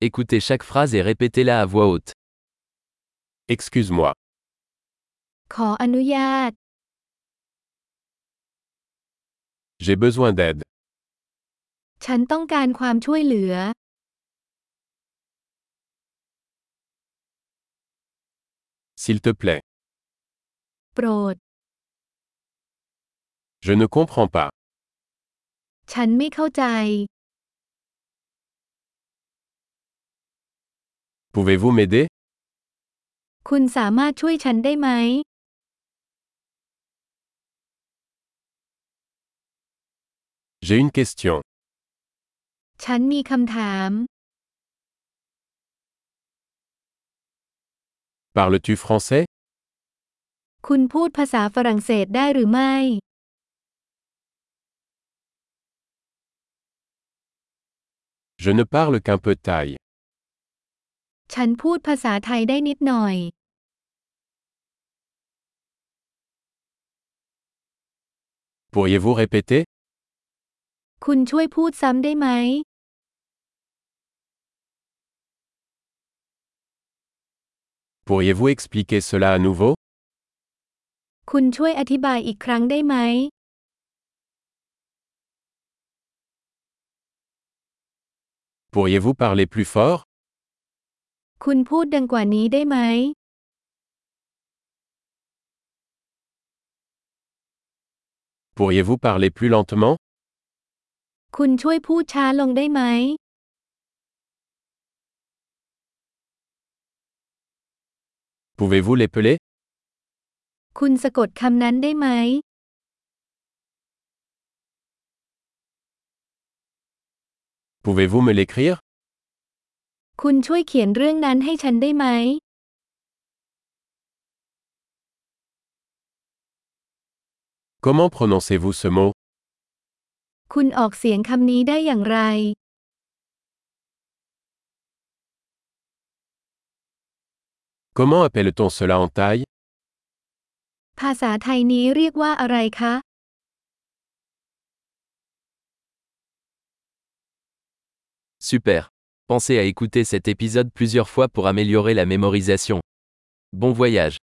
Écoutez chaque phrase et répétez-la à voix haute. Excuse-moi. ขออนุญาต J'ai besoin d'aide. ฉันต้องการความช่วยเหลือ S'il te plaît. โปรด Je ne comprends pas. ฉันไม่เข้าใจ Pouvez-vous m'aider? คุณสามารถช่วยฉันได้ไหม J'ai une question. ฉันมีคำถาม Parles-tu français? คุณพูดภาษาฝรั่งเศสได้หรือไม่ Je ne parle qu'un peu thaï. ฉันพูดภาษาไทยได้นิดหน่อย Pourriez-vous répéter? คุณช่วยพูดซ้ำได้ไหม Pourriez-vous expliquer cela à nouveau? คุณช่วยอธิบายอีกครั้งได้ไหม Pourriez-vous parler plus fort? คุณพูดดังกว่านี้ได้ไหม Pourriez-vous parler plus lentement? คุณช่วยพูดช้าลงได้ไหม Pouvez-vous l'épeler? คุณสะกดคำนั้นได้ไหม Pouvez-vous me l'écrire? คุณช่วยเขียนเรื่องนั้นให้ฉันได้ไหม Comment prononcez-vous ce mot? คุณออกเสียงคำนี้ได้อย่างไร Comment appelle-t-on cela en thaï? ภาษาไทยนี้เรียกว่าอะไรคะ Super. Pensez à écouter cet épisode plusieurs fois pour améliorer la mémorisation. Bon voyage.